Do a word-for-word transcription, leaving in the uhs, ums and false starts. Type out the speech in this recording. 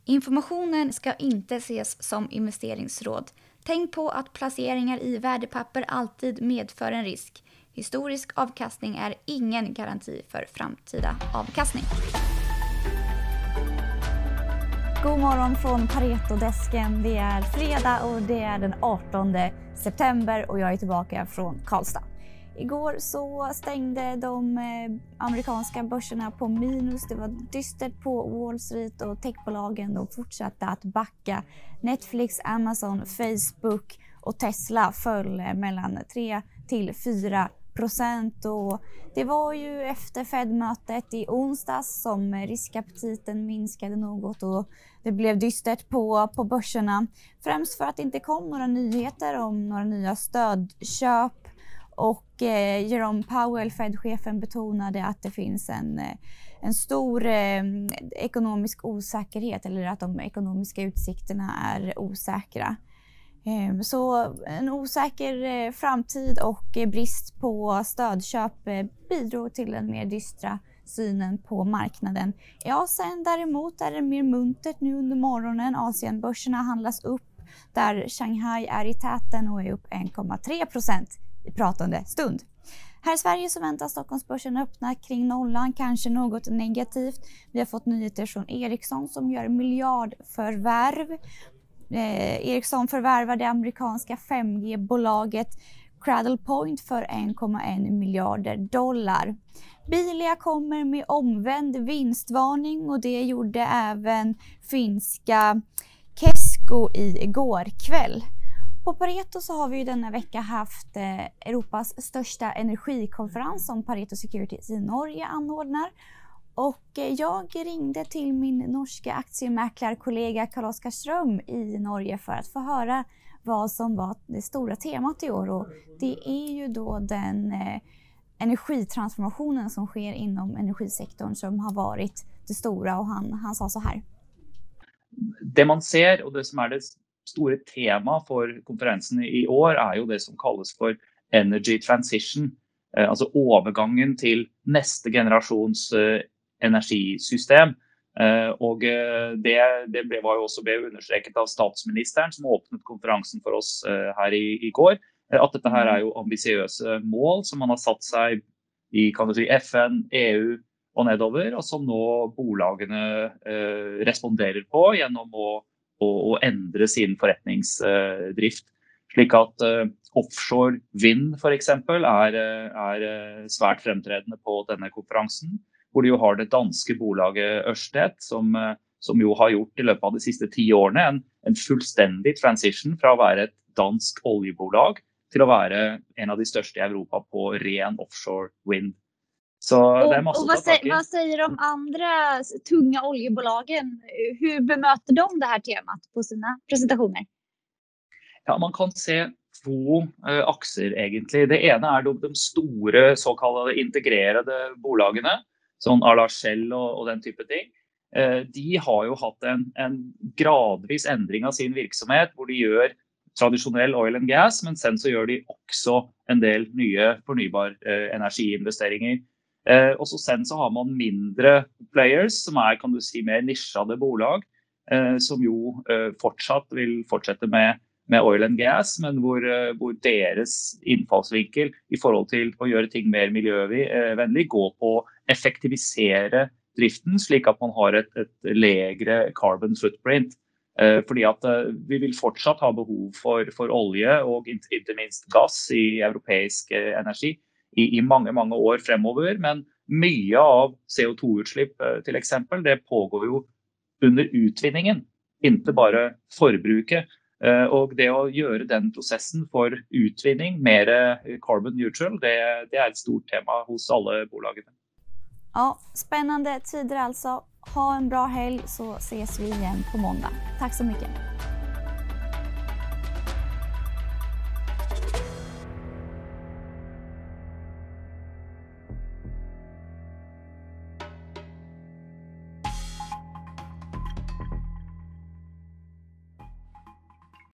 Informationen ska inte ses som investeringsråd. Tänk på att placeringar i värdepapper alltid medför en risk. Historisk avkastning är ingen garanti för framtida avkastning. God morgon från Pareto-desken. Det är fredag och det är den artonde september och jag är tillbaka från Karlstad. Igår så stängde de amerikanska börserna på minus. Det var dystert på Wall Street och techbolagen de fortsatte att backa. Netflix, Amazon, Facebook och Tesla föll mellan tre till fyra procent. Och det var ju efter Fed-mötet i onsdags som riskaptiten minskade något och det blev dystert på, på börserna. Främst för att det inte kom några nyheter om några nya stödköp. Och eh, Jerome Powell, Fed-chefen, betonade att det finns en, eh, en stor eh, ekonomisk osäkerhet, eller att de ekonomiska utsikterna är osäkra. Eh, så en osäker eh, framtid och eh, brist på stödköp eh, bidrog till den mer dystra synen på marknaden. I Asien däremot är det mer muntert nu under morgonen. Asienbörserna handlas upp där Shanghai är i täten och är upp en komma tre procent. I pratande stund. Här i Sverige så väntas Stockholmsbörsen öppna kring nollan, kanske något negativt. Vi har fått nyheter från Ericsson som gör miljardförvärv. Eh, Ericsson förvärvar det amerikanska fem G-bolaget Cradlepoint för en komma en miljarder dollar. Bilia kommer med omvänd vinstvarning och det gjorde även finska Kesko igår kväll. På Pareto så har vi ju denna vecka haft eh, Europas största energikonferens som Pareto Securities i Norge anordnar. Och eh, jag ringde till min norska aktiemäklarkollega Carl-Oskar Ström i Norge för att få höra vad som var det stora temat i år. Och det är ju då den eh, energitransformationen som sker inom energisektorn som har varit det stora, och han, han sa så här. Det man ser, och det som är det store tema for konferensen i år er jo det som kalles for energy transition, eh, altså overgangen til neste generasjons eh, energisystem. Eh, og eh, det, det ble, var jo også ble understreket av statsministeren som åpnet konferensen for oss eh, her i, i går, eh, at dette her er jo ambisiøse mål som man har satt seg i, kan du si, F N, E U og nedover, og som nå bolagene eh, responderer på gjennom å og endre sin forretningsdrift. Slik at uh, offshore vind for eksempel er, er svært fremtredende på denne konferansen, hvor de jo har det danske bolaget Ørsted, som, som jo har gjort i løpet av de siste ti årene en, en fullstendig transition fra å være et dansk oljebolag til å være en av de største i Europa på ren offshore vind. Så det är massor och vad, säger, vad säger de andra tunga oljebolagen? Hur bemöter de det här temat på sina presentationer? Ja, man kan se två uh, axer egentligen. Det ena är de, de stora så kallade integrerade bolagen, som à la Shell och, och den typen av ting. Uh, de har ju haft en, en gradvis ändring av sin verksamhet, där de gör traditionell oil and gas, men sen så gör de också en del nya förnybar uh, energiinvesteringar. Eh, och så sen så har man mindre players som är, kan du si, mer nischade bolag eh, som ju eh, fortsatt vill fortsätta med, med oil and gas, men hvor, eh, hvor deras infallsvinkel i förhåll till att göra ting mer miljövänligt går på effektivisera driften slik att man har ett, ett lägre carbon footprint. Eh, fordi att eh, vi vill fortsatt ha behov för, för olja och inte, inte minst gas i europeisk eh, energi. I, i mange, mange år fremover, men mye av C O två utslipp till exempel, det pågår ju under utvinningen, inte bara förbruket. Och det att göra den processen för utvinning mer carbon neutral, det, det är ett stort tema hos alla bolagen. Ja, spännande tider alltså. Ha en bra helg så ses vi igen på måndag. Tack så mycket.